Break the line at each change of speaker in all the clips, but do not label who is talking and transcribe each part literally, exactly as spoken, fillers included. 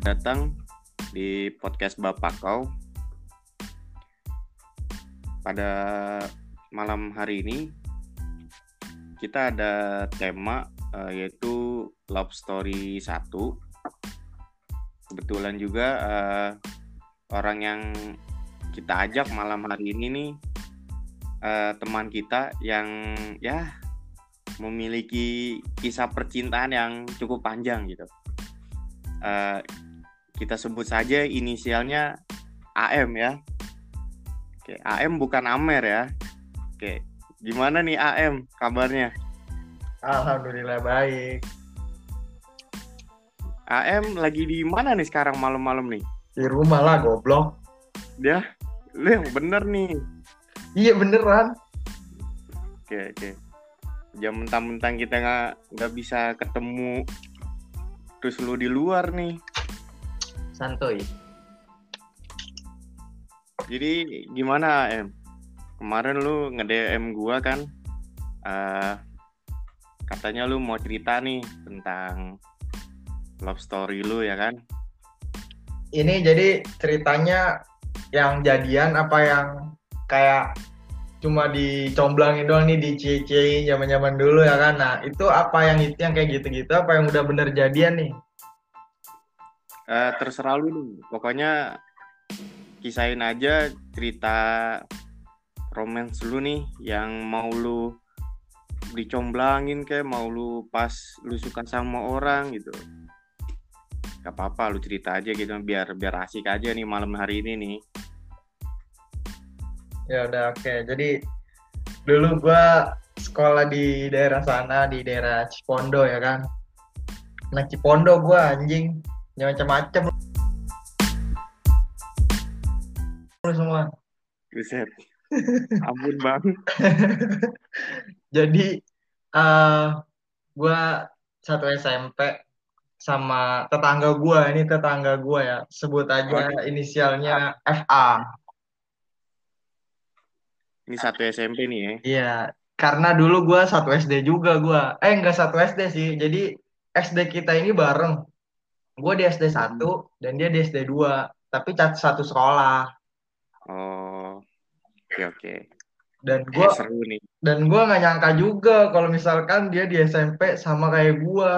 datang di podcast Bapak Kau. Pada malam hari ini kita ada tema uh, yaitu Love Story satu. Kebetulan juga uh, orang yang kita ajak malam hari ini nih uh, teman kita yang ya memiliki kisah percintaan yang cukup panjang gitu. Uh, kita sebut saja inisialnya A M ya. Oke, A M bukan Amer ya. Oke, gimana nih A M kabarnya?
Alhamdulillah baik.
A M lagi di mana nih sekarang malam-malam nih?
Di rumah lah goblok.
Dia, lu yang bener nih.
Iya beneran.
Oke oke. Jam mentang-mentang kita nggak nggak bisa ketemu, terus lu di luar nih.
Santuy.
Jadi gimana A M? Kemarin lu nge-D M gua kan, uh, katanya lu mau cerita nih tentang love story lu ya kan?
Ini jadi ceritanya yang jadian apa yang kayak cuma dicomblangin doang nih, dicie-ciein zaman-zaman dulu ya kan? Nah itu apa yang itu yang kayak gitu-gitu, apa yang udah bener jadian nih?
Uh, terserah lu nih. Pokoknya kisahin aja cerita romance lu nih yang mau lu dicomblangin kayak mau lu pas lu suka sama orang gitu. Gak apa-apa lu cerita aja gitu biar biar asik aja nih malam hari ini nih.
Ya udah oke. Okay. Jadi dulu gua sekolah di daerah sana, di daerah Cipondo ya kan. Nah Cipondo gua anjing macam-macam lu semua.
Buset. Ampun bang.
Jadi uh, gue satu S M P sama tetangga gue, ini tetangga gue ya, sebut aja
Oh,
inisialnya F A.
ini satu S M P nih ya.
Iya, karena dulu gue satu S D juga gue. Eh enggak satu S D sih, jadi S D kita ini bareng. Gue di S D satu dan dia di S D dua, tapi satu sekolah.
Oh, oke oke.
Dan gue
Eh seru nih.
dan gue nggak nyangka juga kalau misalkan dia di S M P sama kayak gue.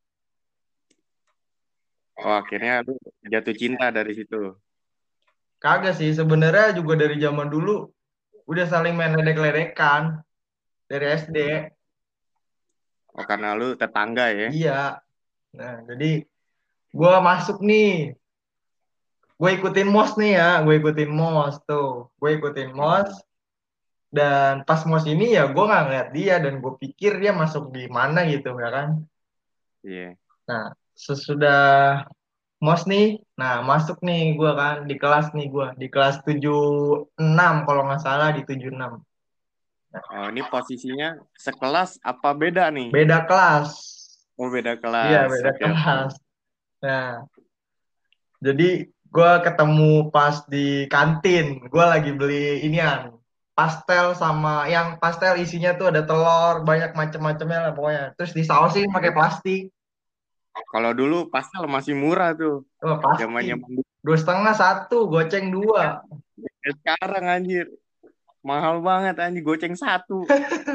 Oh akhirnya lu jatuh cinta dari situ.
Kagak sih, sebenarnya juga dari zaman dulu udah saling main ledek-ledekan dari S D.
Oh karena lu tetangga ya.
Iya. Nah, jadi gue masuk nih. Gue ikutin M O S nih ya. Gue ikutin M O S tuh. Gue ikutin M O S. Dan pas M O S ini ya gue nggak ngeliat dia. Dan gue pikir dia masuk di mana gitu ya kan.
Iya. Yeah.
Nah, sesudah M O S nih. Nah, masuk nih gue kan. Di kelas nih gue. Di kelas tujuh enam kalau nggak salah di tujuh enam.
Oh ini posisinya sekelas apa beda nih?
Beda kelas.
Oh beda
Iya,
kelas.
beda
Oke oke.
kelas. Nah, jadi gue ketemu pas di kantin. Gue lagi beli inian. Pastel sama yang pastel isinya tuh ada telur, banyak macam-macamnya lah pokoknya. Terus disausin pakai plastik.
Kalau dulu pastel masih murah tuh.
Oh, pasti.
Zamannya
Dua setengah satu, goceng dua.
sekarang anjir. Mahal banget anjir goceng satu.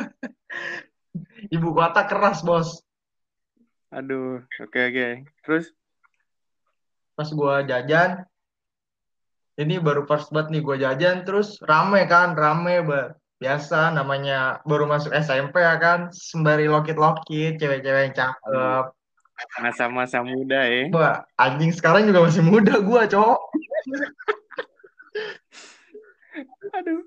Ibu kota keras, bos.
Aduh, oke oke. Terus
Pas gue jajan, ini baru first banget nih gue jajan, terus rame kan, rame banget. Biasa namanya baru masuk S M P ya kan, sembari lokit-lokit, cewek-cewek yang
aduh,
cakep.
masa-masa muda ya.
Wah, anjing sekarang juga masih muda gue, cowok.
Aduh.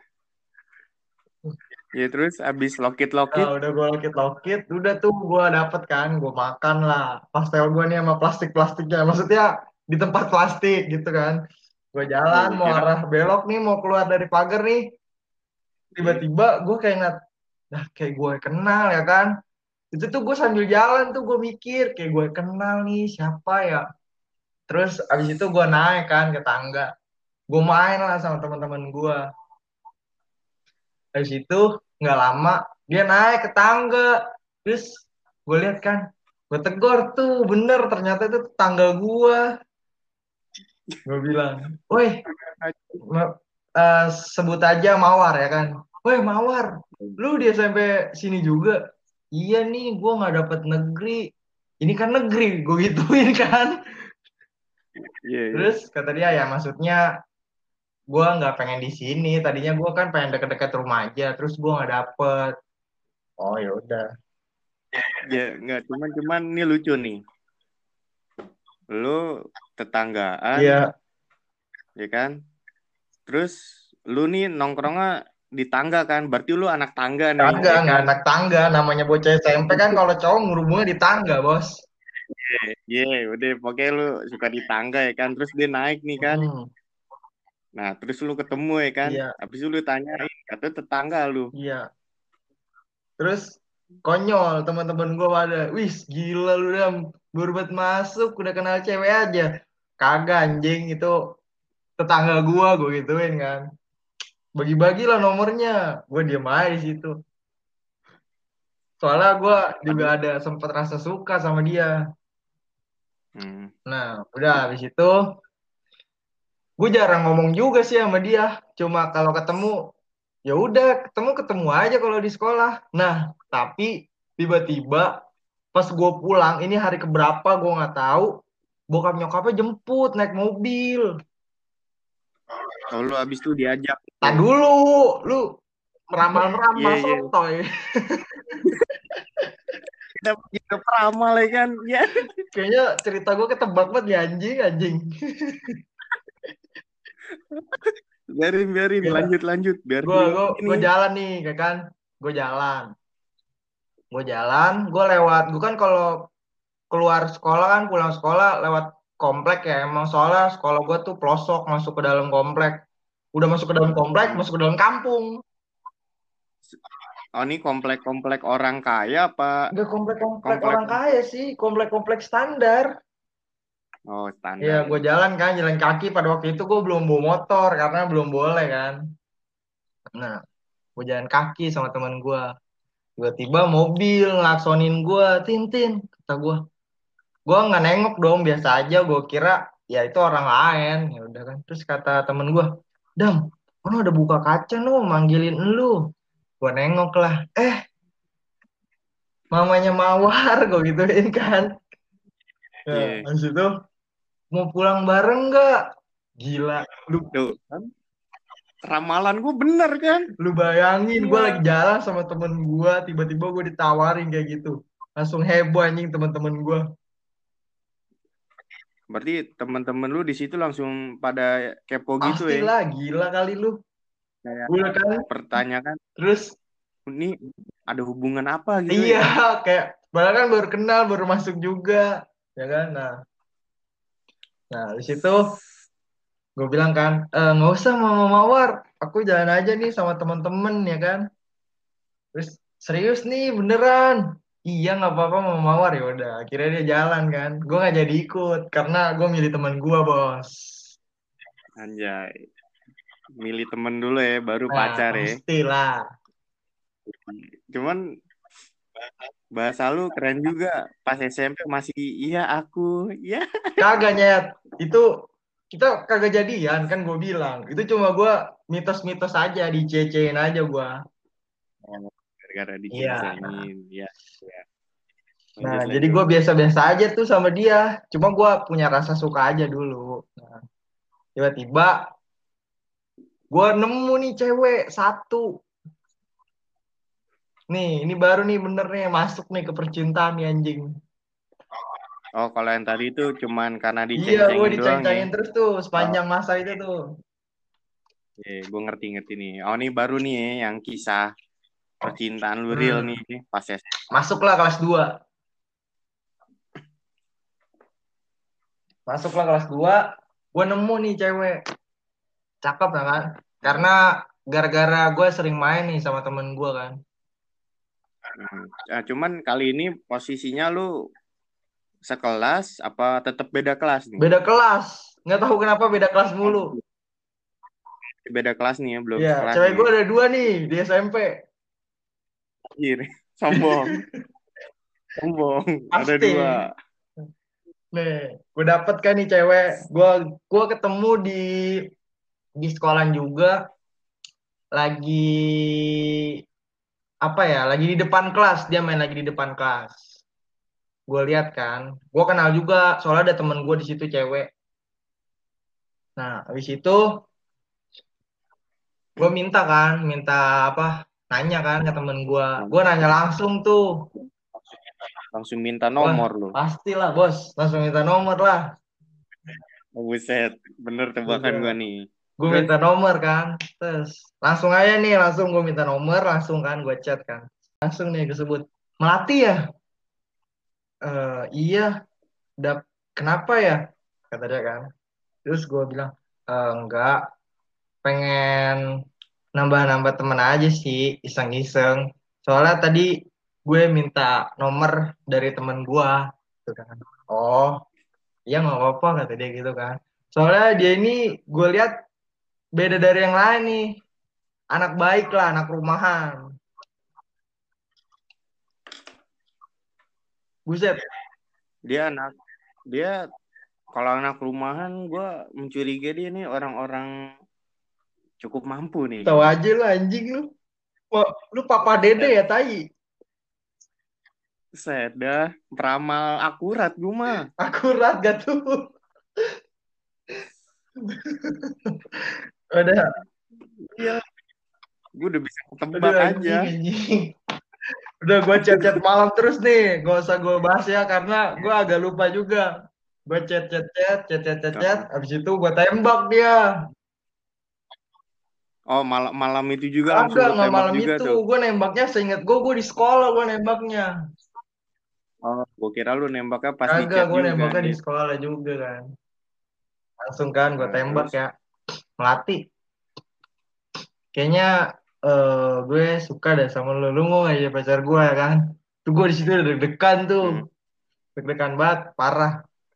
Ya terus abis lokit-lokit.
Nah, udah gue lokit-lokit, udah tuh gue dapet kan, gue makan lah. Pastel gue nih sama plastik-plastiknya, maksudnya di tempat plastik gitu kan. Gue
Oh
jalan,
gue
mau
kira.
arah belok nih, mau keluar dari pagar nih.
Iya.
Tiba-tiba gue kayak ngat, dah kayak gue kenal ya kan. Itu tuh gue sambil jalan tuh gue mikir, kayak gue kenal nih siapa ya. Terus abis itu gue naik kan ke tangga. Gue main lah sama teman-teman gue. Habis itu nggak lama dia naik ke tangga. Terus gue lihat kan, gue tegur tuh bener ternyata itu tetangga gue. Gue bilang, woi, ma- eh, sebut aja Mawar ya kan. Woi Mawar, lu di S M P sini juga? Iya nih, gue nggak dapet negeri. Ini kan negeri, gue gituin kan.
Iya, iya.
Terus kata dia ya maksudnya gue nggak pengen di sini. Tadinya gue kan pengen deket-deket rumah aja. Terus gue nggak dapet. Oh ya udah.
Ya, nggak cuman cuman ini lucu nih. Lu tetanggaan,
Iya,
ya kan? Terus lu nih nongkrongnya di tangga kan? Berarti lu anak tangga nih,
tangga
ya
nggak
kan?
anak tangga. Namanya bocah S M P kan kalau cowok ngurubungnya di tangga bos.
Iya, udah pokoknya lu suka di tangga ya kan? Terus dia naik nih kan?
Hmm,
Nah, terus lu ketemu ya kan?
iya,
Habis itu lu tanyain, katanya tetangga lu.
iya. Terus konyol teman-teman gue pada, wis gila lu dam, baru buat masuk udah kenal cewek aja. Kagak anjing itu tetangga gue, gue gituin kan. Bagi-bagi lah nomornya, gue diem aja di situ. Soalnya gue juga
Padahal,
ada sempat rasa suka sama dia.
hmm,
Nah, udah habis itu gue jarang ngomong juga sih sama dia. Cuma kalau ketemu ya udah ketemu ketemu aja kalau di sekolah. Nah, tapi tiba-tiba pas gue pulang ini hari keberapa gue nggak tahu. Bokap nyokapnya jemput naik mobil.
kalau lu habis itu diajak.
Tak
Tuh.
dulu, lu
Iya,
meramal-meramal
iya.
sotoy.
Kita juga peramal ya kan? Ya,
Kayaknya cerita gue ketebak banget ya anjing anjing.
biarin, biarin.
Ya,
Lanjut, lanjut. Biar
gue
seru
gue
ini.
gue jalan nih, kayak kan? Gue jalan, gue jalan, gue lewat. Gue kan kalau keluar sekolah kan pulang sekolah lewat komplek ya. Emang soalnya sekolah gue tuh pelosok masuk ke dalam komplek. Udah masuk ke dalam komplek,
Hmm.
masuk ke dalam kampung.
Oh, ini komplek-komplek orang kaya apa
Enggak komplek-komplek
komplek?
orang kaya sih, komplek-komplek standar.
Oh,
Ya,
standar
gue
ya.
jalan kan, jalan kaki. Pada waktu itu gue belum bawa motor karena belum boleh kan. Nah, gue jalan kaki sama teman gue. Tiba-tiba mobil ngelaksonin gue, Tintin, kata gue. Gue nggak nengok dong, biasa aja. Gue kira ya itu orang lain. Ya udah kan. Terus kata temen gue, Dam, mana ada buka kaca no, manggilin elu. Gue nengok lah. Eh, mamanya Mawar, gue gituin kan. Nah,
Iya.
habis itu mau pulang bareng nggak? Gila, lu
Tuh, kan? Ramalan gue bener kan?
Lu bayangin gue
Iya.
lagi jalan sama temen gue, tiba-tiba gue ditawarin kayak gitu. Langsung heboh anjing temen-temen gue.
Berarti teman-teman lu di situ langsung pada kepo gitu ya?
Pastilah, gila kali lu.
Kayak
Udah kan?
pertanyaan,
Terus,
ini ada hubungan apa gitu
iya
ya?
kayak, padahal kan baru kenal, baru masuk juga. Ya kan? Nah, nah di situ gue bilang kan, "Eh, nggak usah Mama Mawar. Aku jalan aja nih sama temen-temen ya kan. Terus, serius nih beneran. Iya nggak apa-apa Mama Mawar ya udah. Akhirnya dia jalan kan. Gue nggak jadi ikut karena gue milih temen gue bos.
Anjay, milih temen dulu ya, baru
Nah,
pacar ya.
pastilah.
Cuman bahasa lu keren juga. Pas S M P masih iya aku, iya.
Kagak nyet. Itu kita kagak jadian kan gue bilang. Itu cuma gue mitos-mitos aja, dicecein aja gue.
Oh, gara-gara
Iya. Nah,
diceng-cengin, ya, ya.
nah,
Lanjut,
jadi
lanjut.
gue biasa-biasa aja tuh sama dia. Cuma gue punya rasa suka aja dulu. Nah, tiba-tiba gue nemu nih cewek satu. Nih, ini baru nih bener nih masuk nih ke percintaan nih anjing.
Oh, kalau yang tadi itu cuman karena
Iya, gue
diceng-cengin doang ya.
diceng-cengin terus tuh
Oh,
sepanjang masa itu tuh.
iya, gue ngerti-ngerti nih. Oh, ini baru nih ya, yang kisah percintaan lu real
Hmm,
nih pas S M P.
masuklah kelas dua. Masuklah kelas dua, gue nemu nih cewek. Cakep ya kan? Karena gara-gara gue sering main nih sama temen gue kan.
Hmm. Nah, cuman kali ini posisinya lu sekelas apa tetap beda kelas nih?
Beda kelas. Nggak tahu kenapa beda kelas
Oh,
mulu.
beda kelas nih ya, belum
Ya,
sekelas
cewek
nih.
gue ada dua nih di S M P.
Anjir, sombong, sombong. Ada
Pasti.
dua.
Nih, gue dapet kan nih cewek. Gue gue ketemu di di sekolah juga lagi apa ya? Lagi di depan kelas, dia main lagi di depan kelas. Gue lihat kan, gue kenal juga soalnya ada temen gue di situ cewek. Nah, habis itu gue minta kan, minta apa? Nanya kan ke temen gue. Gue nanya langsung tuh.
Langsung minta
Wah,
nomor lu.
pastilah bos, langsung minta nomor lah.
Oh, buset, bener tebakan
Udah,
gua nih.
gue
Terus,
minta nomor kan, terus langsung aja nih, langsung gue minta nomor, langsung kan gue chat kan, langsung nih disebut Melati ya. "Eh, iya, udah kenapa ya?" Kata dia kan. Terus gue bilang, "Eh, enggak, pengen nambah-nambah temen aja sih, iseng-iseng. Soalnya tadi gue minta nomor dari temen gue." Gitu kan. "Oh, iya nggak apa-apa," kata dia gitu kan. Soalnya dia ini gue lihat beda dari yang lain nih. Anak baik lah, anak rumahan. Buset.
dia anak, dia kalau anak rumahan, gua mencurigai dia nih orang-orang cukup mampu nih
Tahu
kayaknya.
aja lu anjing lu. Wah, lu papa dede
Set,
ya tai.
set dah, peramal akurat gua mah.
Akurat gak tuh? Udah,
Iya, gua udah bisa
udah
ketebak aja.
anjing anjing. Udah gue chat-chat malam terus nih. Gak usah gue bahas ya karena gue agak lupa juga. Gue chat-chat chat, chat-chat chat, chat.
Kalau-
Abis itu gue tembak dia.
Oh, malam malam itu juga langsung
Agak
lu
nggak
tembak
malam
juga
itu.
tuh.
Gue nembaknya seinget gue, gue di sekolah gue nembaknya.
Oh, gua kira lu nembaknya pas di
Agak
chat
gue
juga
nembaknya di
anjir.
sekolah juga kan. Langsung kan gue
Nah,
tembak
terus,
ya. Melati. Kayaknya eh gue suka deh sama lu. Lu mau gak jadi pacar gue ya kan? Tuh gue di situ udah deg-degan tuh.
hmm.
Deg-degan banget, parah.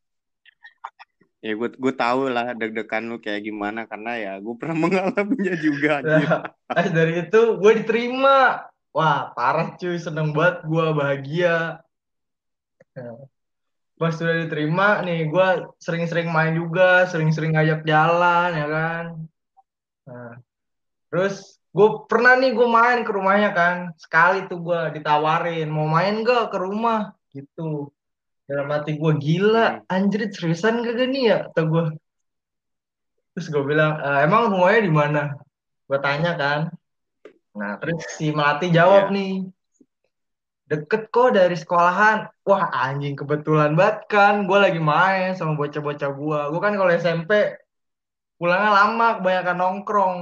Ya gue gue tahu lah deg-degan lu kayak gimana karena ya gue pernah mengalaminya juga anjir.
Nah, pas dari itu gue diterima. Wah, parah cuy, seneng banget gue, bahagia. Nah, pas sudah diterima nih, gue sering-sering main juga, sering-sering ngajak jalan ya kan. Nah, terus gue pernah nih gue main ke rumahnya kan. Sekali tuh gue ditawarin, mau main gak ke rumah? Gitu. Dalam hati gue gila,
Hmm.
anjir seriusan gak nih ya? Kata gue. Terus gue bilang, "E, emang rumahnya di mana?" Gue tanya kan. Nah, terus si Melati jawab
Iya.
nih, "Deket kok dari sekolahan." Wah anjing kebetulan banget kan, gue lagi main sama bocah-bocah gue. Gue kan kalau S M P pulangnya lama, kebanyakan nongkrong.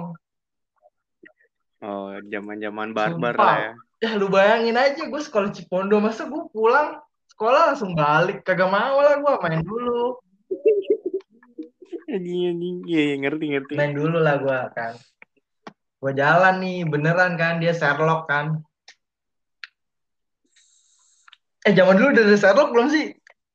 Oh, zaman-zaman barbar
Sumpah.
lah ya.
Ya lu bayangin aja, gue sekolah Cipondo, masa gue pulang sekolah langsung balik? Kagak mau lah, gue main dulu.
Anjing anjing. Iya, iya, ngerti ngerti.
Main dulu lah gue kan. Gue jalan nih, beneran kan, dia Sherlock kan. Eh zaman dulu udah ada Sherlock belum sih?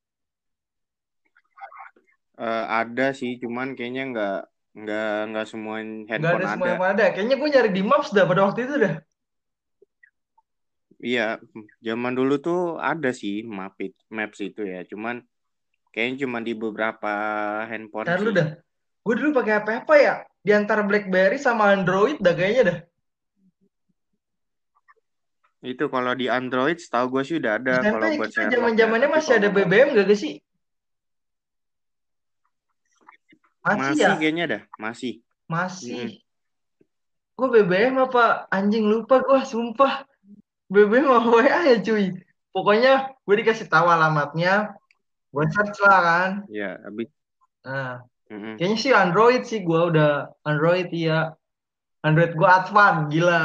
Eh, ada sih, cuman kayaknya nggak nggak nggak semua
Nggak ada
handphone
semua
ada.
yang ada. Kayaknya gue nyari di Maps dah pada waktu itu dah.
Iya, zaman dulu tuh ada sih map it- maps itu ya. Cuman kayaknya cuma di beberapa handphone
Ntar lu
sih.
dah. Gue dulu pakai apa apa ya? Di antara BlackBerry sama Android dah kayaknya dah.
Itu kalau di Android, setahu gue sih udah ada
S M P
kalau buat
kita zaman
Sherlock ya.
zamannya
Tapi
masih ada
kalau
B B M gak sih? Masih
masih
ya?
kayaknya dah, masih. Mm-mm.
Masih. Gue B B M apa anjing lupa gue sumpah. B B M apa W A ya cuy. Pokoknya gue dikasih tahu alamatnya. Gue search lah kan.
Ya, habis.
Nah,
Mm-mm.
kayaknya sih Android sih gue udah Android iya. Android gue advance gila.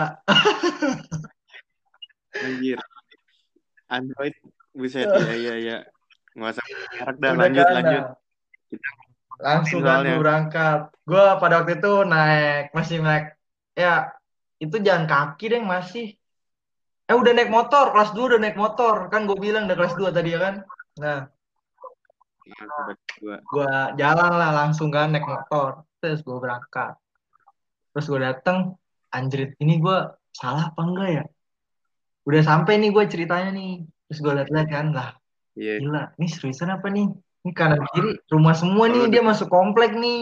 Anjir, Android, buset ya, ya, ya. Nggak usah merek dah,
Udah
lanjut,
kan.
lanjut.
Nah,
Kita
langsung
ngomongin
kan
soalnya.
gue berangkat. Gue pada waktu itu naik masih naik ya itu jalan kaki deh masih. Eh udah naik motor kelas dua udah naik motor kan gue bilang udah kelas dua tadi ya kan. Nah
Nah, tiba-tiba.
gue jalan lah langsung kan naik motor terus gue berangkat terus gue dateng anjrit ini gue salah apa enggak ya udah sampai nih gue ceritanya nih terus gue liat-liat kan lah
Iya.
gila ini seriusan apa nih Ini kanan kiri rumah semua
Oh,
nih,
lu
dia
deket.
masuk komplek nih.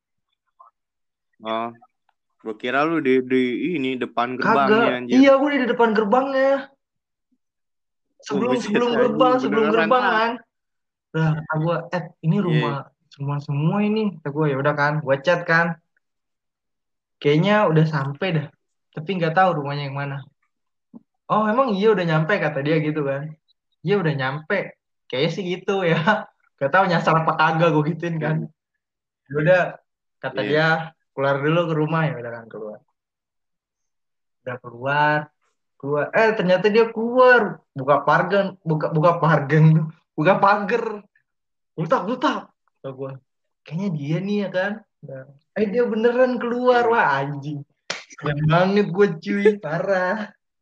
Oh, gua kira lu di, di ini depan
Kagak.
gerbangnya anjir.
Iya, gue di depan gerbangnya.
Oh,
Sebelum
buset
sebelum
anjing,
gerbang, sebelum
beneran
gerbang
ah.
kan. Lah, kata gue, eh ini rumah
Iya.
rumah semua ini. Kata gue, ya udah kan, gue chat kan. Kayaknya udah sampai dah. Tapi nggak tahu rumahnya yang mana. Oh, emang iya udah nyampe kata dia gitu kan. Iya udah nyampe. Kayaknya sih gitu ya. Gak tahu nyasar apa kagak gue gituin kan.
Hmm.
Ya udah kata
Iya.
dia keluar dulu ke rumah, ya udah kan keluar. Udah keluar, keluar. Eh ternyata dia keluar, buka pagar, buka buka pagar, buka pagar. Butak butak. Kata gue, kayaknya dia nih ya kan. Nah, eh dia beneran keluar,
Hmm.
wah anjing. Keren banget gue cuy, parah.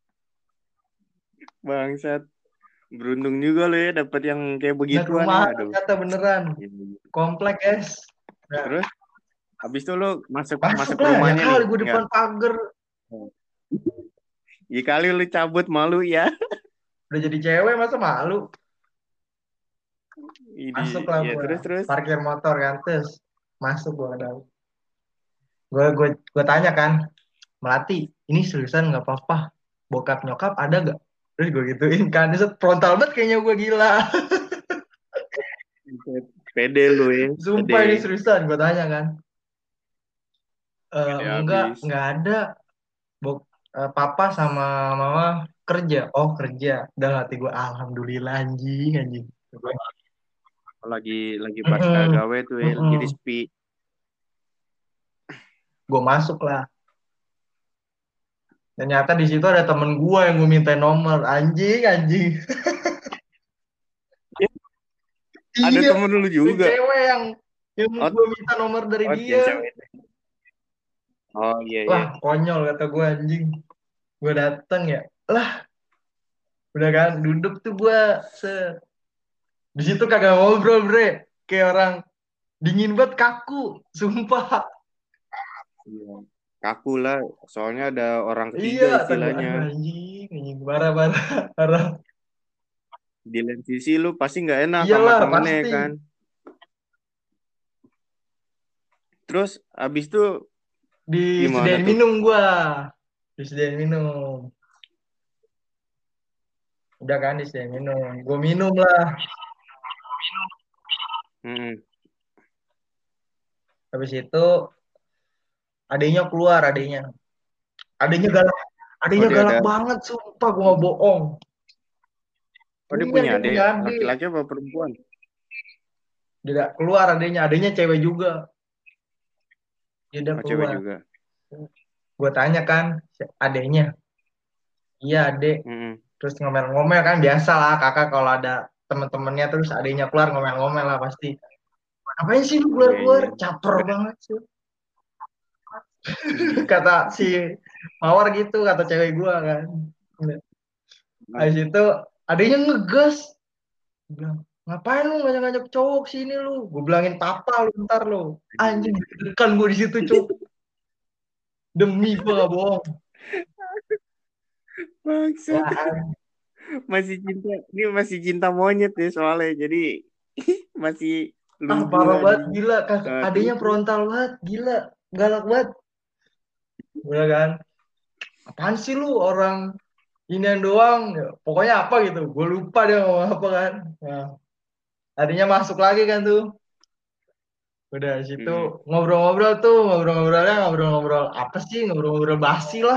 Bangsat. Beruntung juga lo ya dapat yang kayak
Nah ke
begituan
rumah
ya. Aduh.
ternyata beneran.
Iya, iya.
Komplek guys. Nah,
Terus habis itu lo masuk
masuk
masuk
lah ya
rumahnya nih,
kali gue
enggak?
depan pagar.
Ya kali lu cabut malu ya.
Udah jadi cewek masa malu.
Ini
Masuklah
ya
gue,
terus terus.
parkir motor kan, terus masuk gue ke dalam. Gue gue gue tanya kan, Melati, ini seriusan nggak apa-apa? Bokap nyokap ada gak? Terus gue gituin kan, dia frontal banget kayaknya gue gila.
Pede lu ya,
Sumpah ini
pede.
seriusan, gue tanya kan. "Eh,
Pede
enggak,
habis.
enggak ada. Bok, eh, papa sama mama kerja. Oh kerja. Udah hati gue, alhamdulillah anjing, anjing.
Lagi lagi pas gak
Mm-mm,
gawe tuh ya, jadi
mm-mm.
sepi.
Gue masuk lah. Ternyata di situ ada temen gue yang gue minta nomor. Anjing, anjing.
Ya, ada
Iya,
temen lu
yang
juga.
cewek yang yang
Oh,
gue minta nomor dari
oh
dia.
yang cewek. Oh iya iya.
Wah, konyol kata gue anjing. Gue dateng ya. Lah, udah kan duduk tuh gue se di situ kagak ngobrol, bre. Kayak orang dingin banget kaku, sumpah.
Iya. Kaku lah, soalnya ada orang
Iya,
ketiga
kata gue,
istilahnya.
aduh anjing, anjing parah parah parah.
Di lain sisi lu pasti nggak enak sama
Iyalah,
temennya
pasti.
kan. Terus abis itu gimana
Disediain
tuh?
minum gua. Disediain minum. Udah kan disediain minum. Gue minum lah.
Hmm.
Habis itu adanya keluar, adanya. Adanya galak.
Oh
Adanya
dia
galak
ada.
banget, sumpah gue gak bohong.
Oh dia
Punya,
punya
dia
adik
punya adik.
laki-laki apa perempuan?
Dia udah keluar adanya. Adanya cewek juga. Dia udah
Oh cewek
keluar.
juga.
Gue tanya kan, adanya. Iya, adek.
Hmm.
Terus ngomel-ngomel kan biasa lah kakak kalau ada teman-temannya terus adanya keluar ngomel-ngomel lah pasti. Ngapain sih lu
Iya
keluar-keluar?
iya.
Caper banget sih.
Hmm.
Kata si Mawar gitu, kata cewek gua kan. Habis itu adanya ngegas. Dia bilang, ngapain lu ngajak-ngajak cowok sini lu? Gue bilangin papa lu ntar lu. Anjing deg-degan gue di situ cowok. Demi gue gak bohong.
Bangsat.
Wah,
Masih cinta. Ini masih cinta monyet ya soalnya. Jadi masih
ah
lugu
parah banget
anjing.
gila. Kakak,
Nah, terus
adanya
terus.
frontal banget gila. Galak banget. Udah kan. Apaan sih lu orang inian doang. Ya, pokoknya apa gitu. Gue lupa dia ngomong apa kan. Nah, adanya masuk lagi kan tuh. Udah di situ
Hmm.
ngobrol-ngobrol tuh. Ngobrol-ngobrolnya ngobrol-ngobrol apa sih. Ngobrol-ngobrol basi lah.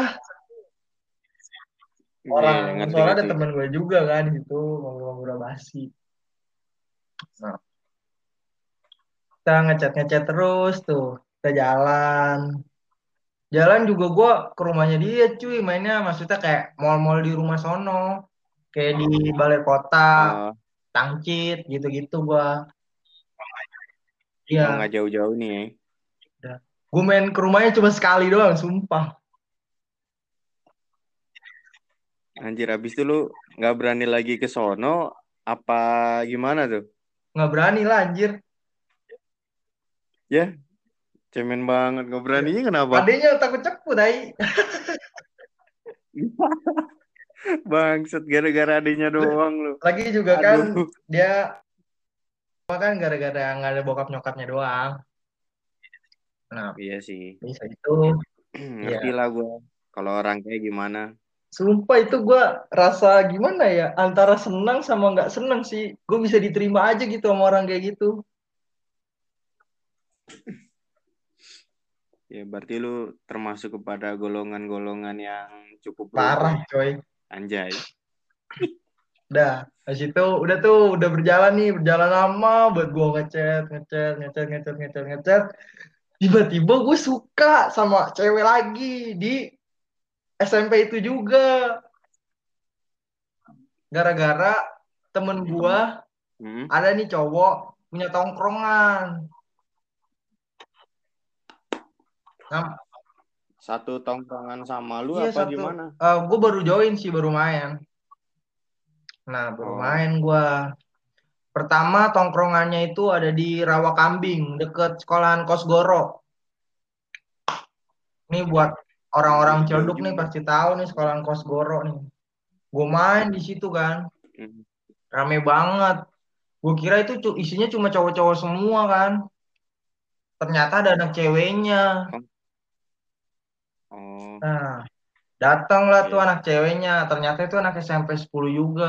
Iya
Orang
ngerti
soalnya ada
ngerti.
temen gue juga kan di situ ngobrol-ngobrol basi. Nah, kita ngechat-ngechat terus tuh. Kita jalan. Jalan juga gue ke rumahnya dia cuy. Mainnya maksudnya kayak mall-mall di rumah sono. Kayak di balai kota,
Oh,
Tangcit, gitu-gitu gua.
oh
Iya,
nggak jauh-jauh nih ya.
udah. Gue main ke rumahnya cuma sekali doang, sumpah.
Anjir abis itu lu nggak berani lagi ke sono apa gimana tuh?
Nggak berani lah anjir.
Ya, cemen banget. Nggak
Ya.
beraninya kenapa?
Adanya takut cepu tai.
Bangsat gara-gara adanya doang lu.
Lagi juga kan
Aduh.
dia Cuma kan gara-gara nggak ada bokap nyokapnya doang. Nah,
Iya sih.
bisa itu. Ya,
Ngerti lah gue. Kalau orang kayak gimana.
sumpah itu gue rasa gimana ya, antara senang sama nggak senang sih. Gue bisa diterima aja gitu sama orang kayak gitu.
Ya berarti lu termasuk kepada golongan-golongan yang cukup lobo
Parah
ya.
coy.
Anjay.
Udah, habis itu udah tuh udah berjalan nih, berjalan lama buat gue ngechat, ngechat, ngechat, ngechat, ngechat, ngechat. Tiba-tiba gue suka sama cewek lagi di S M P itu juga. Gara-gara temen gue
Hmm.
ada nih cowok punya tongkrongan. Nah,
Satu tongkrongan sama lu
iya
apa
satu.
gimana?
Eh gue baru join sih, baru main. Nah, baru
Oh.
main gue. Pertama tongkrongannya itu ada di Rawakambing, deket sekolahan Kosgoro. Nih buat orang-orang
Anjir jauh
Ciledug nih
juga.
pasti tahu nih sekolahan Kosgoro nih. Gue main di situ kan,
Hmm.
rame banget. Gue kira itu cu- isinya cuma cowok-cowok semua kan. Ternyata ada anak ceweknya.
Oh. Oh.
Nah, datanglah tuh
Iya.
anak ceweknya. Ternyata itu anak S M P sepuluh juga.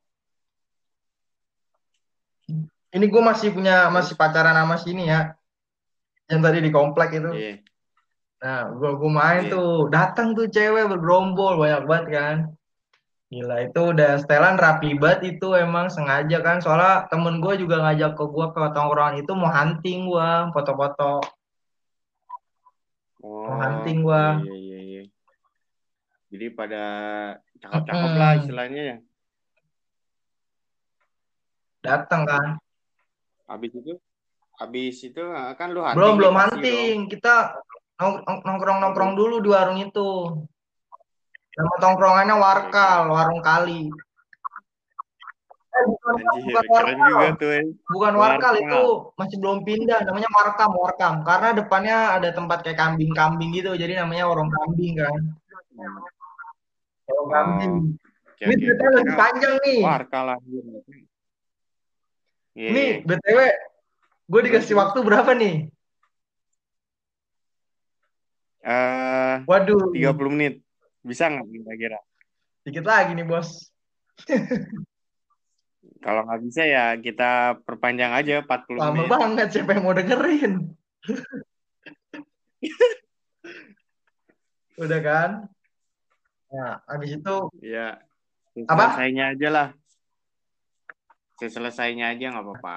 Ini gue masih punya masih
Terus?
pacaran sama sini ya, yang tadi di komplek itu.
Iya.
Nah, gue gue main
Iya.
tuh, datang tuh cewek bergerombol banyak banget kan. Gila itu udah setelan rapi banget itu, emang sengaja kan. Soalnya temen gue juga ngajak ke gue ke tongkrongan itu mau hunting gue, foto-foto. Mau
Oh.
hunting gue.
Iya iya iya iya. Jadi pada cakep-cakep lah
Mm-mm.
istilahnya ya.
Datang kan.
Habis itu, habis itu kan lu
Belum
hunting nih
belum
pasti dong.
hunting. Kita nong- nong-
Oh
nongkrong-nongkrong
belum.
dulu di warung itu. Nama tongkrongannya
Oke
Warkal,
oke.
warung kali. Eh, bukan,
Anjir,
bukan
keren
Warkal.
juga tuh, eh.
Bukan Warkal itu
Warkal.
masih belum pindah, namanya Warkam, Warkam. Karena depannya ada tempat kayak kambing-kambing gitu, jadi namanya warung kambing kan. Warung kambing.
Oh, oke
Ini
oke.
ceritanya
Gue
lagi
kira
panjang nih.
Warkal lah. Iya
Nih,
iya.
B T W, gue
Terus
dikasih
terus.
waktu berapa nih?
Eh, tiga
Waduh,
puluh menit. Bisa nggak kira-kira?
dikit lagi nih bos.
Kalau nggak bisa ya kita perpanjang aja empat puluh
Lama
menit.
banget, siapa yang mau dengerin? Udah kan? Nah, habis itu,
Ya,
apa?
selesainya aja lah. Selesainya aja nggak apa-apa.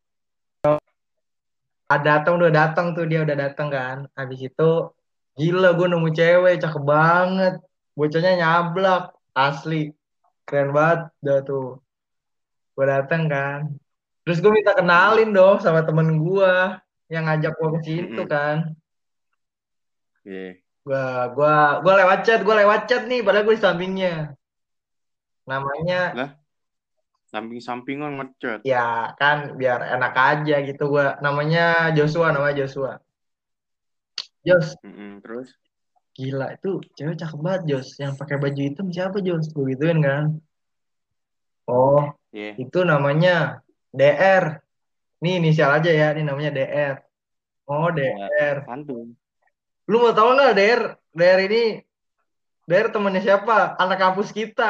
Ada datang, udah datang tuh, dia udah datang kan. Habis itu, gila gue nemu cewek, cakep banget. Bocahnya nyablak, asli. Keren banget, udah tuh. Gue datang kan. Terus gue minta
Mm-mm.
kenalin dong sama temen gue yang ngajak gue ke situ
Mm-mm.
kan.
Iya.
Gua gua gua lewat chat, gua lewat chat nih, padahal gue di sampingnya. Namanya
Lah, samping-sampingan ngechat.
ya kan biar enak aja gitu gua. Namanya Joshua, namanya Joshua. Jos,
Mm-mm. Terus?
gila itu cewek cakep banget Jos. Yang pakai baju hitam siapa Jos? Gue gituin kan. Oh,
Iya.
itu namanya D R. Nih inisial aja ya, ini namanya D R. Oh,
Ya,
D R.
santuy.
Lu mau tahu nggak D R? D R ini D R temannya siapa? Anak kampus kita.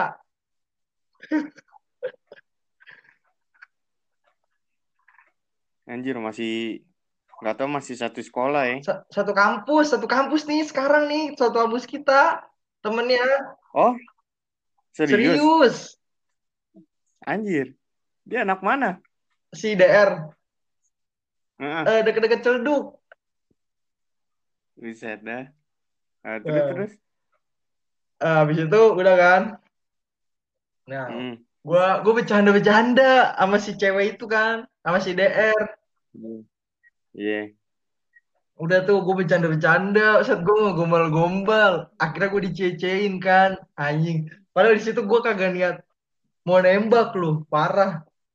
Anjir, masih nggak tahu masih satu sekolah ya.
Sa- Satu kampus, satu kampus nih sekarang nih, satu kampus kita. Temennya
Oh, serius?
serius.
Anjir, dia anak mana?
Si D R
Heeh,
eh, deket-deket Celduk.
bisa dah. Ah, terus
Eh,
terus.
eh, habis itu udah kan. Nah,
Mm.
gua gua bercanda-bercanda sama si cewek itu kan, sama si D R.
Mm. Iya.
Udah tuh gue bercanda-bercanda, saat gue gombal-gombal. Akhirnya gue dicecein kan, anjing. Padahal di situ gue kagak niat mau nembak loh, parah.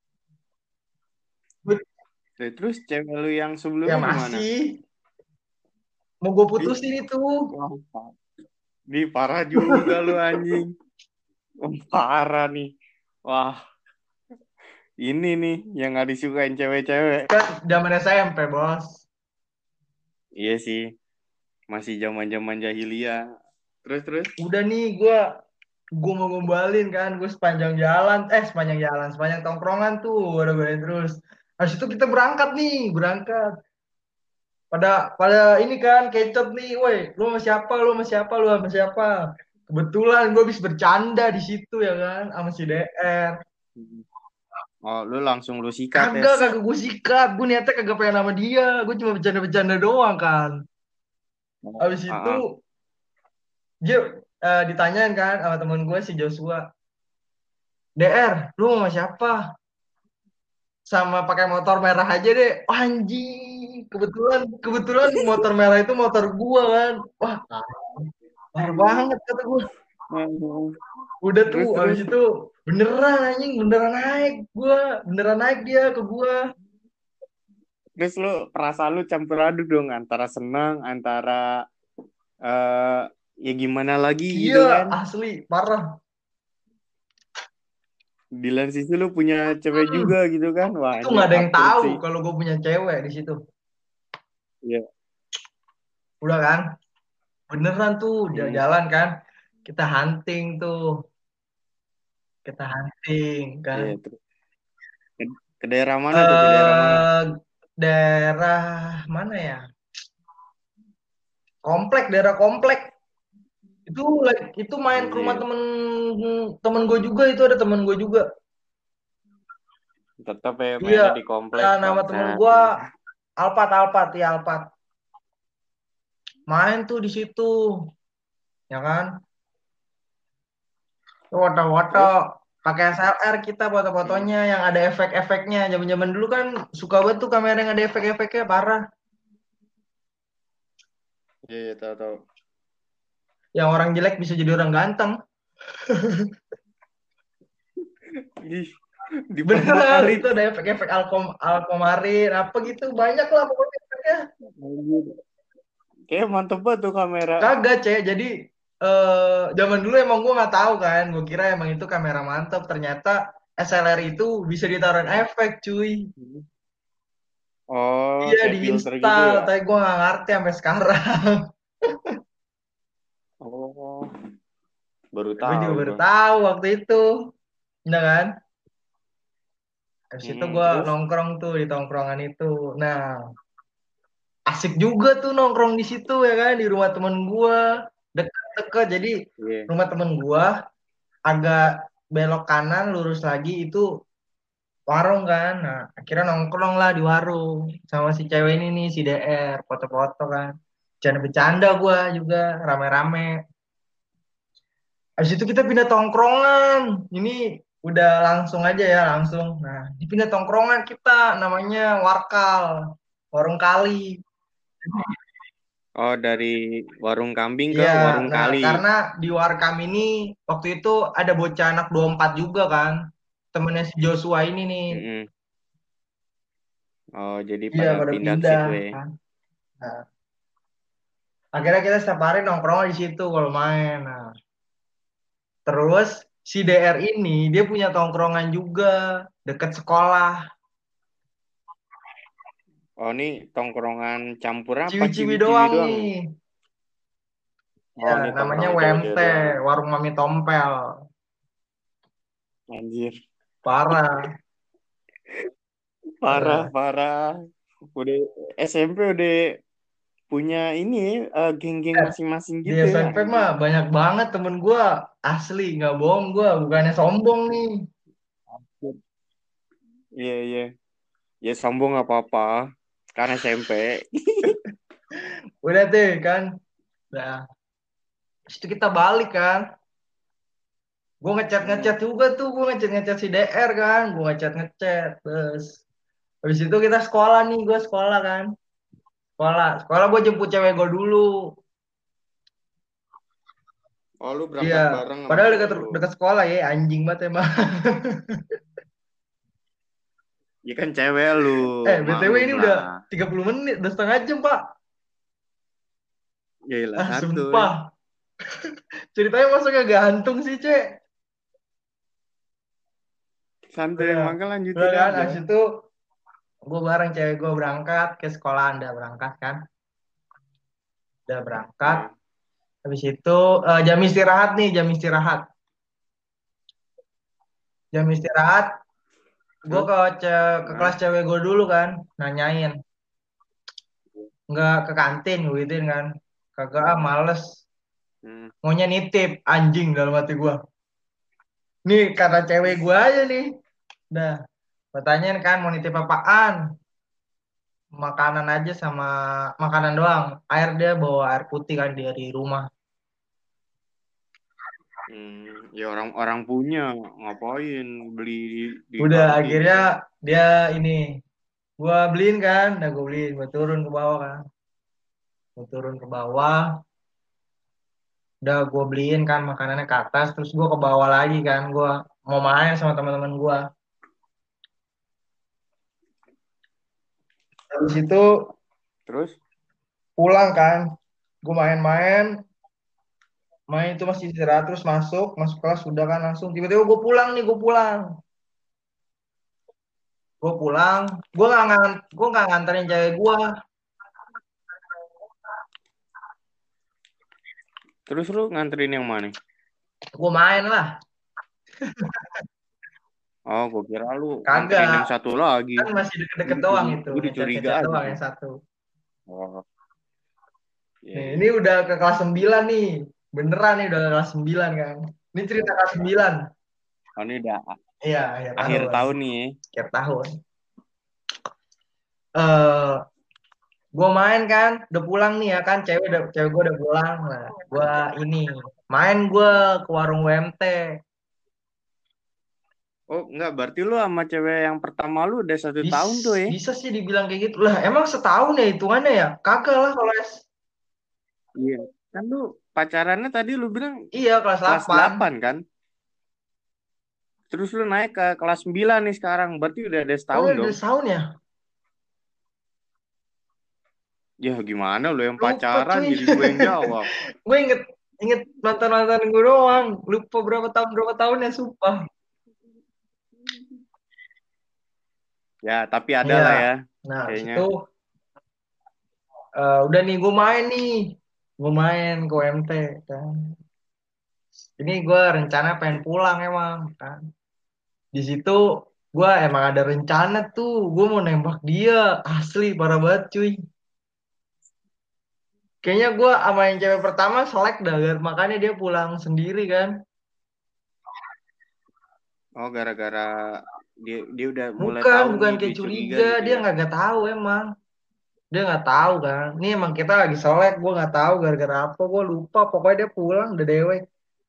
Gua-
Nah, terus cewek lu yang
Ya
sebelumnya gimana?
masih mau gue
Ih,
putusin itu.
wah, pa- Di parah juga lu anjing. Wah, parah nih. Wah, Ini nih yang nggak disukain cewek-cewek.
Kan zaman S M P, Bos.
Iya sih, masih zaman-zaman jahiliyah. Terus terus.
Udah nih gue gue mau ngombalin kan, gue sepanjang jalan, eh sepanjang jalan, sepanjang tongkrongan tuh, udah gue terus. Habis itu kita berangkat nih, berangkat. Pada pada ini kan kecot nih, woi, lu sama siapa, lu sama siapa, lu sama siapa. Kebetulan gue habis bercanda di situ ya kan, sama si D R.
Oh, lu langsung lu sikat ya,
Kagak,
set.
kagak gue sikat, gue niatnya kagak pengen sama dia, gue cuma bercanda-bercanda doang kan. Habis
Ah,
itu
ah.
dia eh, ditanyain kan sama temen gue si Joshua, D R, lu sama siapa? Sama pakai motor merah aja deh. Oh, anjing, kebetulan kebetulan motor merah itu motor gua kan. Wah, parah banget kata gua. Udah tuh
Terus
habis
terus.
itu beneran anjing, beneran naik gua, beneran naik dia ke gua.
Terus lu perasaan lu campur aduk dong antara senang, antara eh ya gimana lagi
Iya,
gitu kan.
asli parah.
Di lain sisi lu punya cewek
Hmm,
juga gitu kan. Wah,
itu
anjir
nggak ada yang
absurd
tahu
sih.
kalau gua punya cewek di situ.
Iya.
Udah kan, beneran tuh dia
Hmm.
jalan kan. Kita hunting tuh, kita hunting kan.
Iya, terus. Ke, ke daerah mana tuh? Ke daerah mana?
Eh daerah mana ya? Komplek, daerah komplek. Itu like, itu main ke rumah
Anjir.
temen temen gue juga, itu ada temen gue juga.
Tetap ya
Iya,
mainnya di komplek
nah, nama temen
bangsat.
gue Alpat, Alpat ya Alpat. Main tuh di situ, ya kan? Foto-foto
Terus?
pakai S L R kita
Hmm.
foto-fotonya yang ada efek-efeknya. Zaman-zaman dulu kan suka banget tuh kamera yang ada efek-efeknya parah.
Iya, iya, tahu tahu.
Yang orang jelek bisa jadi orang ganteng.
Ih,
Beneran,
dipermalit.
itu ada efek-efek alkom alkomarin apa gitu banyak lah pokoknya efeknya.
Anjir. Kayak mantep banget tuh kamera.
Kagak, Cek. Jadi eh zaman dulu emang gue nggak tahu kan. Gue kira emang itu kamera mantap. Ternyata S L R itu bisa ditaruhin efek, cuy.
Oh,
Iya,
kayak filter gitu
diinstal.
ya?
Tapi gue nggak ngerti sampai sekarang.
Oh, baru
Gue juga
tahu
baru
gua.
tahu waktu itu. Nah kan. Habis itu
Mm-mm,
gue
terus?
nongkrong tuh di tongkrongan itu. Nah, asik juga tuh nongkrong di situ ya kan. Di rumah temen gue. Deket-deket. Jadi
Iya.
rumah temen gue agak belok kanan, lurus lagi itu warung kan. Nah, akhirnya nongkrong lah di warung sama si cewek ini nih, si D R, foto-foto kan. Bercanda-bercanda gua juga rame-rame. Habis itu kita pindah tongkrongan. Ini udah langsung aja ya, langsung. Nah, dipindah tongkrongan kita namanya Warkal, Warung Kali.
Oh, dari warung kambing ke
Iya,
warung
nah
kali.
karena di Warkam ini waktu itu ada bocah anak dua puluh empat juga kan. Temennya si Joshua ini nih.
Mm-mm. Oh, jadi
Iya,
pada
pada
pindah ke
pindah
situ ya.
kan. Nah, akhirnya kita setiap hari nongkrong di situ kalau main. Nah, terus si D R ini dia punya tongkrongan juga deket sekolah.
Oh, ini tongkrongan campur apa?
Ciwi-ciwi
Ciwi-ciwi
doang
doang nih.
nih.
Oh,
Ya,
ini
namanya
tongkrongan
W M T,
cewek-cewek doang nih.
Warung Mami Tompel.
Anjir.
Parah.
Parah,
Nah,
parah. Udah S M P udah punya ini ya, eh, geng-geng
eh,
masing-masing
di
gitu ya,
S M P mah
anjir.
banyak banget temen gue. Asli, nggak bohong gue. Bukannya sombong nih.
Iya, iya. Ya sombong nggak apa-apa. Karena S M P.
Udah deh kan. Nah, habis itu kita balik kan. Gue ngechat ngechat
Hmm.
juga tuh, gue ngechat ngechat si D R kan, gue ngechat ngechat terus habis itu kita sekolah nih, gue sekolah kan, sekolah sekolah gue jemput cewek gue dulu.
Oh, lu
Iya,
berangkat bareng sama
padahal dekat
cewek lu.
dekat sekolah ya, anjing banget emang.
Ya kan cewek lu,
Eh, B T W
maklum
ini udah
lah.
tiga puluh menit, udah setengah jam pak.
Gila
Ah,
santuy.
sumpah, ceritanya masa gak gantung sih cek.
Santai
Udah,
makan
udah
lanjutin
kan,
aja.
habis itu gue bareng cewek gue berangkat ke sekolah, udah berangkat kan, udah berangkat.
Iya.
Habis itu eh, jam istirahat nih, jam istirahat, jam istirahat, gue
Terus?
ke ce- ke
Nah.
kelas cewek gue dulu kan, nanyain, nggak ke kantin gue gituin kan, kagak ah males,
Hmm.
maunya nitip anjing dalam hati gue. Nih kata cewek gue aja nih, dah, gue tanyain kan mau nitip apaan, makanan aja sama makanan doang, air dia bawa air putih kan dia di rumah.
Hmm. Ya orang-orang punya ngapain beli di, di
Udah
kantin
akhirnya
kan?
dia ini gua beliin kan, udah gua beliin, gua turun ke bawah kan, gua turun ke bawah, udah gua beliin kan makanannya ke atas, terus gua ke bawah lagi kan, gua mau main sama teman-teman gua. Habis itu
Terus?
pulang kan, gua main-main, main itu masih istirahat terus masuk, masuk kelas sudah kan langsung tiba-tiba gua pulang nih, gua pulang, gua pulang, gua nggak ngan, gua nggak nganterin cewek gua,
Terus lu nganterin yang mana?
gua main lah,
Oh, gue kira lu nganterin
kagak,
yang satu lagi.
kan masih deket-deket
Gue
doang
curi,
itu,
gue dicuriga
ngechat-ngechat
aja
doang
tuh.
yang satu.
Oh, iya,
Nih,
iya.
ini udah ke kelas sembilan nih. Beneran nih udah ke kelas sembilan kan. Ini cerita kelas sembilan.
Oh, ini udah a-
Iya, akhir
akhir
tahun.
tahun nih.
Akhir tahun. Eh, gue main kan, udah pulang nih ya kan, cewek udah cewek gue udah pulang. Nah, gue ini main gue ke warung W M T.
Oh, enggak, berarti lu sama cewek yang pertama lu udah satu
Bis,
tahun tuh ya?
bisa sih dibilang kayak gitu. Lah, emang setahun ya hitungannya ya? Kagak lah kalau S.
Iya. Kan lu pacarannya tadi lu bilang
Iya, kelas
kelas
delapan.
delapan kan? Terus lu naik ke kelas sembilan nih sekarang. Berarti udah ada
Oh,
setahun
udah
dong.
setahun ya?
Ya gimana lu yang
Lupa
pacaran
cuy.
jadi gue yang jawab.
Gue inget inget mantan mantan gue doang. Lupa berapa tahun berapa tahun ya, sumpah.
Ya, tapi ada
Iya.
lah ya
Nah, habis
kayaknya.
itu eh, udah nih gue main nih. Gue main ke U M T kan. Ini gue rencana pengen pulang emang kan. Di situ gue emang ada rencana tuh. Gue mau nembak dia. Asli parah banget cuy. Kayaknya gue sama yang cewek pertama selek dah. Makanya dia pulang sendiri kan.
Oh, gara-gara dia dia udah mulai
Bukan,
tahu
bukan
nih
kayak
dia curiga
curiga.
gitu
Dia
ya.
nggak nggak tahu emang. Dia nggak tahu kan. Ini emang kita lagi selek. Gue nggak tahu gara-gara apa. Gue lupa. Pokoknya dia pulang udah dewek.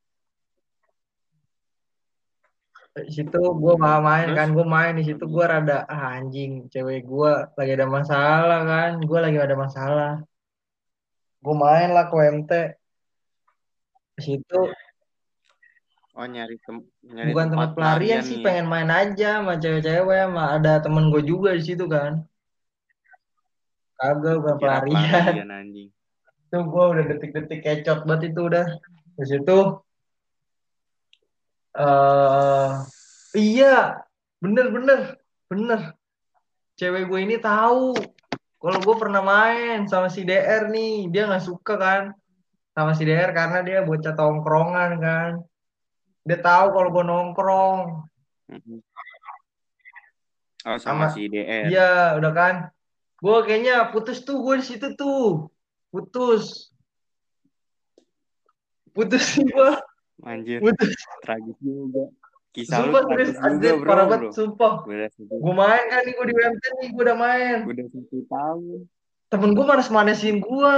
Di situ gue malah
Hmm,
main kan,
terus?
gue main di situ gue rada ah, anjing, cewek gue lagi ada masalah kan, gue lagi ada masalah, gue main lah ke U M T. Di situ
Oh, nyari tem nyari
bukan
tempat
tempat pelarian
pelarian
sih,
nih ya.
pengen main aja sama cewek-cewek, sama ada temen gue juga di situ kan, kagak bukan
Dikira
pelarian.
pelarian anjing.
Itu gue udah detik-detik kecot banget itu udah. Di situ eh iya, bener bener bener, cewek gue ini tahu kalau gue pernah main sama si D R nih, dia nggak suka kan sama si D R karena dia bocah tongkrongan kan. Dia tahu kalau gue nongkrong
Mhm. Oh,
sama
sama si D R.
dia, udah kan. Gue kayaknya putus tuh, gue di situ tuh. Putus. Putus sih gue.
Anjir,
Putus.
tragis juga. Kisah lu
Sumpah serius,
tragis juga,
anjir,
bro,
parah banget,
bro.
sumpah.
Udah satu,
Gue main kan nih, gue di W M T nih, gue udah main.
udah satu tahun.
Temen gue manas-manasin gue.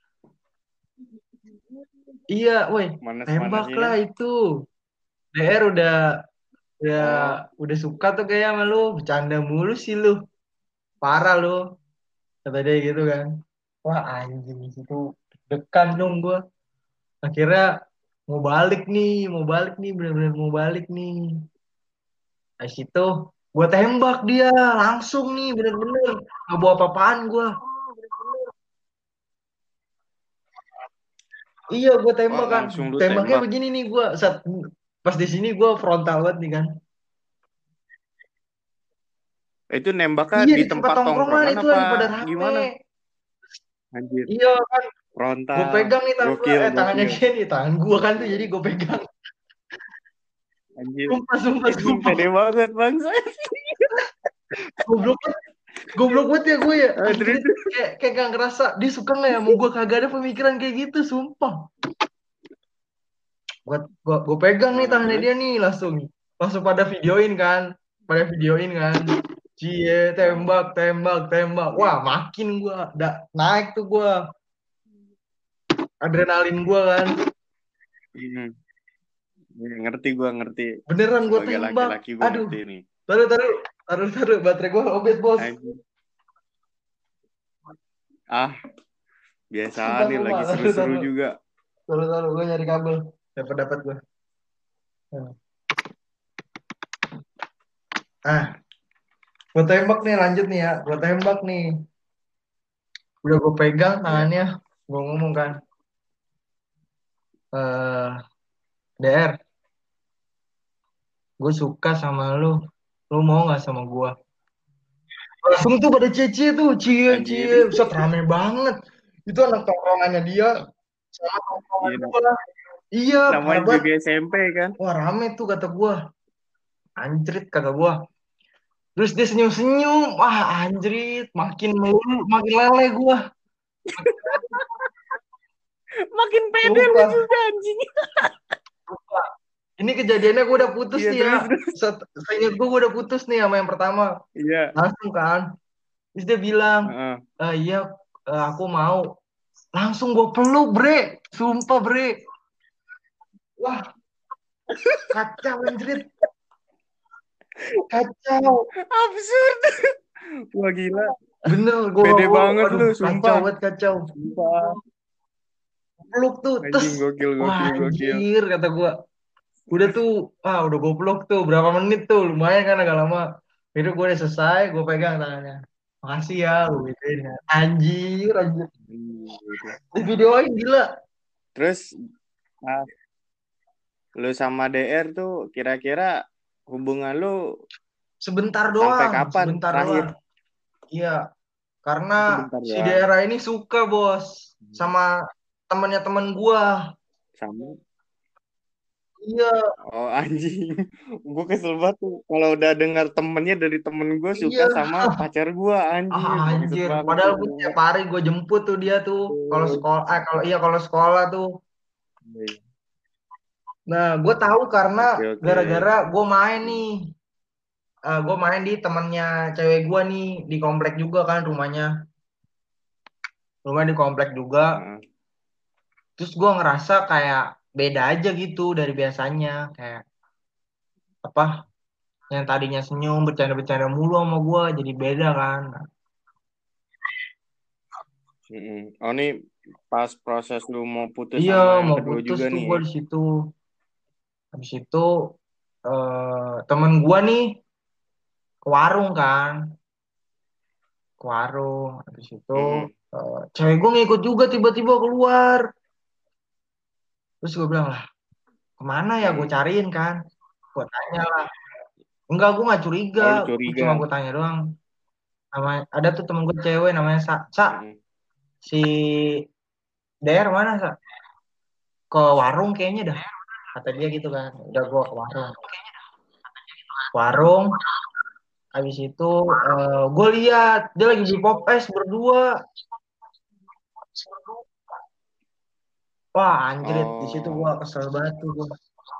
Iya, woi, tembak
Manas-manasinnya.
lah itu. D R udah, udah,
Oh,
udah suka tuh kayak sama lu. Bercanda mulu sih lu. Parah lu. Kata dia gitu kan. Wah anjing itu dekan dong gue. Akhirnya mau balik nih, mau balik nih, bener-bener mau balik nih. Dari situ gue tembak dia langsung nih, bener-bener nggak bawa apa-apaan gue. Iya gue
oh
tembak kan.
langsung lu
Tembaknya
tembak.
begini nih gue. Saat pas di sini gue frontal banget nih kan.
Itu nembaknya
Iya
di
di tempat
tempat
tongkrongan
tongkrongan
itu
apa
lagi pada rame.
gimana? Anjir,
Iya kan, gue
frontal.
pegang nih tangan gue,
Gokil,
eh tangannya
gokil.
gini, tangan gue kan tuh jadi gue pegang.
Anjir.
Sumpah, sumpah,
Anjing
sumpah.
pede banget bangsa.
Goblok, goblok banget ya gue ya.
Ah, terus
Anjir, kayak kayak gak ngerasa dia suka nggak ya mau gue, kagak ada pemikiran kayak gitu, sumpah. Gue gue gue pegang nih
ah,
tangannya
terus
dia nih langsung, langsung pada videoin kan, pada videoin kan. Cie,
ah,
tembak, tembak, tembak. Wah, makin gue, da, naik tuh gue, adrenalin gue kan.
hmm. Ya, ngerti gua ngerti.
Beneran gue
Sebagai
tembak.
laki-laki gua
Aduh,
ngerti nih.
taruh, taruh, taruh, taruh. Baterai gue lobet, bos.
Anjing. Ah, biasa
Sumpah,
nih
sumpah.
lagi
Taruh,
seru-seru
taruh.
juga.
Taruh, taruh. Gue nyari kabel. Dapat, dapat gue. Ah, gue tembak nih, lanjut nih ya. Gue tembak nih. Udah gue pegang
Iya.
tangannya. Gue ngomong kan, eh D R, gue suka sama lu. Lu mau nggak sama gue? Langsung tuh pada cie-cie tuh, cie-cie.
Anjir.
Bisa rame banget. Itu anak tongkrongannya dia sama tongkrongan
Iya, nam-
gue. Iya, parah
namanya
banget.
juga S M P kan.
Wah, rame tuh kata gue. Anjrit kata gue. Terus dia senyum-senyum. Wah, anjrit. Makin melulu, makin lele gue.
Makin pede lu
Sumpah.
juga anjing.
Sumpah. Ini kejadiannya gue udah putus
Iya,
nih ya.
terus terus.
Set- Seingat gue, gue udah putus nih sama yang pertama.
Iya.
Langsung kan. Terus dia bilang,
Heeh.
"Eh, iya, eh, aku mau." Langsung gue peluk, bre. Sumpah, bre. Wah, kacau, anjrit. Kacau.
Absurd. Wah gila.
Bener, gue,
Pede
gue,
banget
aduh,
lu,
kacau
sumpah.
banget, kacau.
Sumpah.
Peluk tuh, tes.
Anjing gokil,
Wah,
gokil, gokil.
anjir, kata gue. Udah tuh, ah udah gue peluk tuh, berapa menit tuh, lumayan kan agak lama. Itu gue udah selesai, gue pegang tangannya. Makasih ya, gue gituin ya. Anjir, anjir.
Hmm, gitu.
Di videoin gila.
Terus ah, lu sama D R tuh kira-kira hubungan lu
Sebentar
sampai
doang,
kapan
sebentar
terakhir?
doang. Iya, karena
Sebentar
si
doang.
daerah ini suka, bos,
Hmm.
sama temennya temen gua.
Sama.
Iya,
Oh anjing, gue kesel banget tuh kalau udah dengar temennya dari temen gue suka
iya.
sama pacar gue,
Ah,
anjir, bangsat
anjir.
banget tuh.
Padahal gue tiap hari gue jemput tuh dia tuh. Kalau sekolah, eh, kalau iya kalau sekolah tuh. Nah, gue tahu karena
Oke oke.
gara-gara gue main nih. Eh, gue main di temennya cewek gue nih di komplek juga kan rumahnya. Rumah di komplek juga.
Heeh.
Terus gue ngerasa kayak beda aja gitu dari biasanya. Kayak apa? Yang tadinya senyum, bercanda-bercanda mulu sama gue, jadi beda kan.
Mm-mm. Oh ini pas proses lu mau putus
Iya,
sama yang
mau
kedua
putus
juga
tuh
nih.
gue di situ. Habis itu eh, temen gue nih ke warung kan, ke warung. Habis itu
Mm-mm.
eh, cewek gue ngikut juga tiba-tiba keluar. Terus gue bilang lah, kemana ya? Gue
Mm-mm.
cariin kan. Gue tanya lah. Enggak, gue nggak curiga.
Oh lu
Gue cuma
curiga.
gue tanya doang. Namanya, ada tuh temen gue cewek namanya Sa. Sa,
Mm-mm.
si Der mana Sa? Ke warung kayaknya dah. Kata dia gitu kan. Udah gue ke warung. Warung. Habis itu eh, gue lihat dia lagi beli pop es berdua. Wah, anjrit, di situ
Oh
gue kesel banget tuh gua.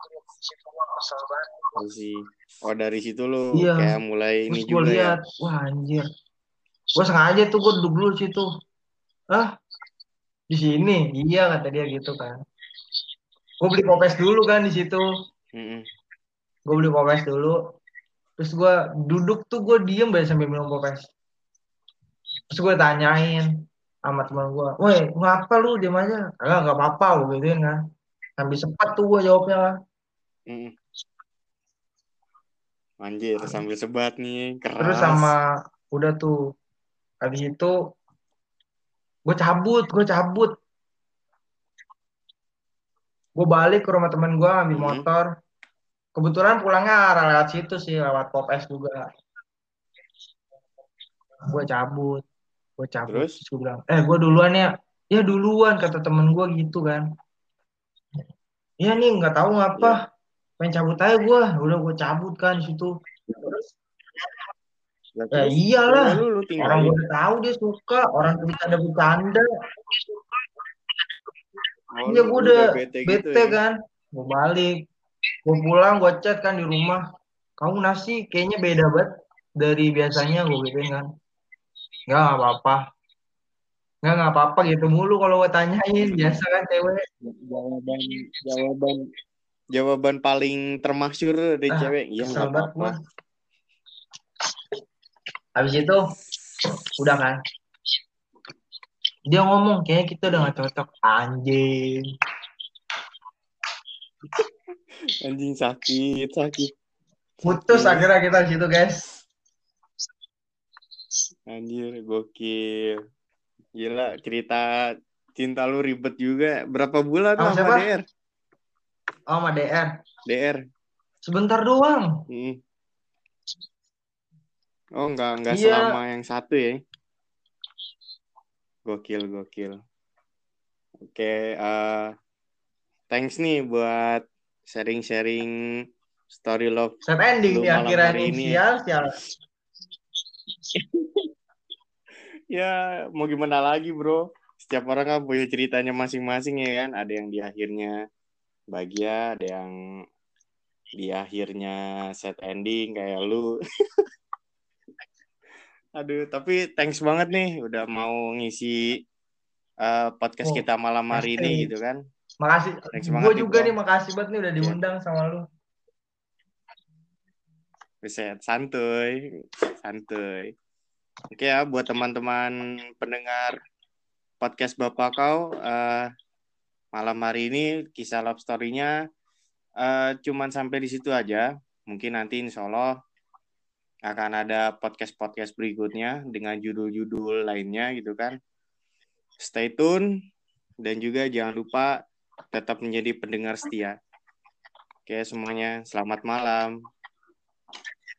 I see. Oh dari situ lu
Iya,
kayak mulai ini
terus gue
juga ya.
lihat, wah anjir. Gue sengaja tuh gue duduk dulu di situ. Ah, di sini? Iya kata dia gitu kan. Gue beli pop es dulu kan di situ.
Mm-mm.
Gue beli pop es dulu. Terus gue duduk tuh gue diem banget sambil minum pop es. Terus gue tanyain sama teman gue, woi ngapa lu diem aja? Enggak, nggak apa-apa lu gituin kan. Sambil sempat tuh gue jawabnya kan.
Mm-mm. Anjir sambil sebat nih
Terus
keras.
sama udah tuh habis itu gue cabut, gue cabut. Gue balik ke rumah temen gue ambil
Mm-mm.
motor. Kebetulan pulangnya arah lewat situ sih, lewat pop es juga. gue cabut gue cabut
Terus?
terus gue bilang eh gue duluan ya ya duluan kata temen gue gitu kan. Iya nih nggak tahu ngapa
Ya.
pengen cabut aja gue udah gue cabut kan di situ.
Lah
Ya
terus
iyalah,
cewek lu lu
orang gue
tinggalin.
udah tahu dia suka, orang bercanda-bercanda.
Oh,
Iya
lu,
gue
lu
udah
udah bete gitu
bete
ya.
kan, gue balik, gue pulang, gue chat kan di rumah. Kamu nasi kayaknya beda banget dari biasanya gue gituin kan. Nggak nggak apa-apa, nggak nggak apa-apa gitu mulu kalau gue tanyain biasa kan cewek.
Jawaban jawaban jawaban paling termasyur dari
Ah
cewek, iya
kesel
nggak
banget
apa-apa.
gue. Habis itu udah kan, dia ngomong kayaknya kita udah
Hmm.
gak cocok anjing.
Anjing sakit, sakit,
Putus
sakit.
akhirnya kita di situ guys.
Anjir, gokil. Gila, cerita cinta lu ribet juga. Berapa bulan
Sama
lah sama
siapa?
D R?
Oh, sama D R.
D R.
Sebentar doang.
Hmm. Oh, enggak enggak selama
Iya.
yang satu ya. Gokil, gokil. Oke, eh thanks nih buat sharing-sharing story love
Set ending
lu
di
malam
akhiran
hari
ini
ini.
sial sial.
Ya, mau gimana lagi, bro? Setiap orang kan punya ceritanya masing-masing ya kan. Ada yang di akhirnya bahagia, ada yang di akhirnya sad ending kayak lu. Aduh, tapi thanks banget nih udah mau ngisi uh, podcast
Oh,
kita malam hari
pasti.
ini gitu kan.
Makasih.
Thanks
Gue
banget nih,
juga
bro.
nih makasih banget nih udah
Ya,
diundang sama lu.
bisa santuy, santuy. Oke ya, buat teman-teman pendengar podcast Bapak Kau, uh, malam hari ini kisah love story-nya uh, cuman sampai di situ aja. Mungkin nanti insya Allah akan ada podcast-podcast berikutnya dengan judul-judul lainnya gitu kan. Stay tune dan juga jangan lupa tetap menjadi pendengar setia. Oke semuanya, selamat malam.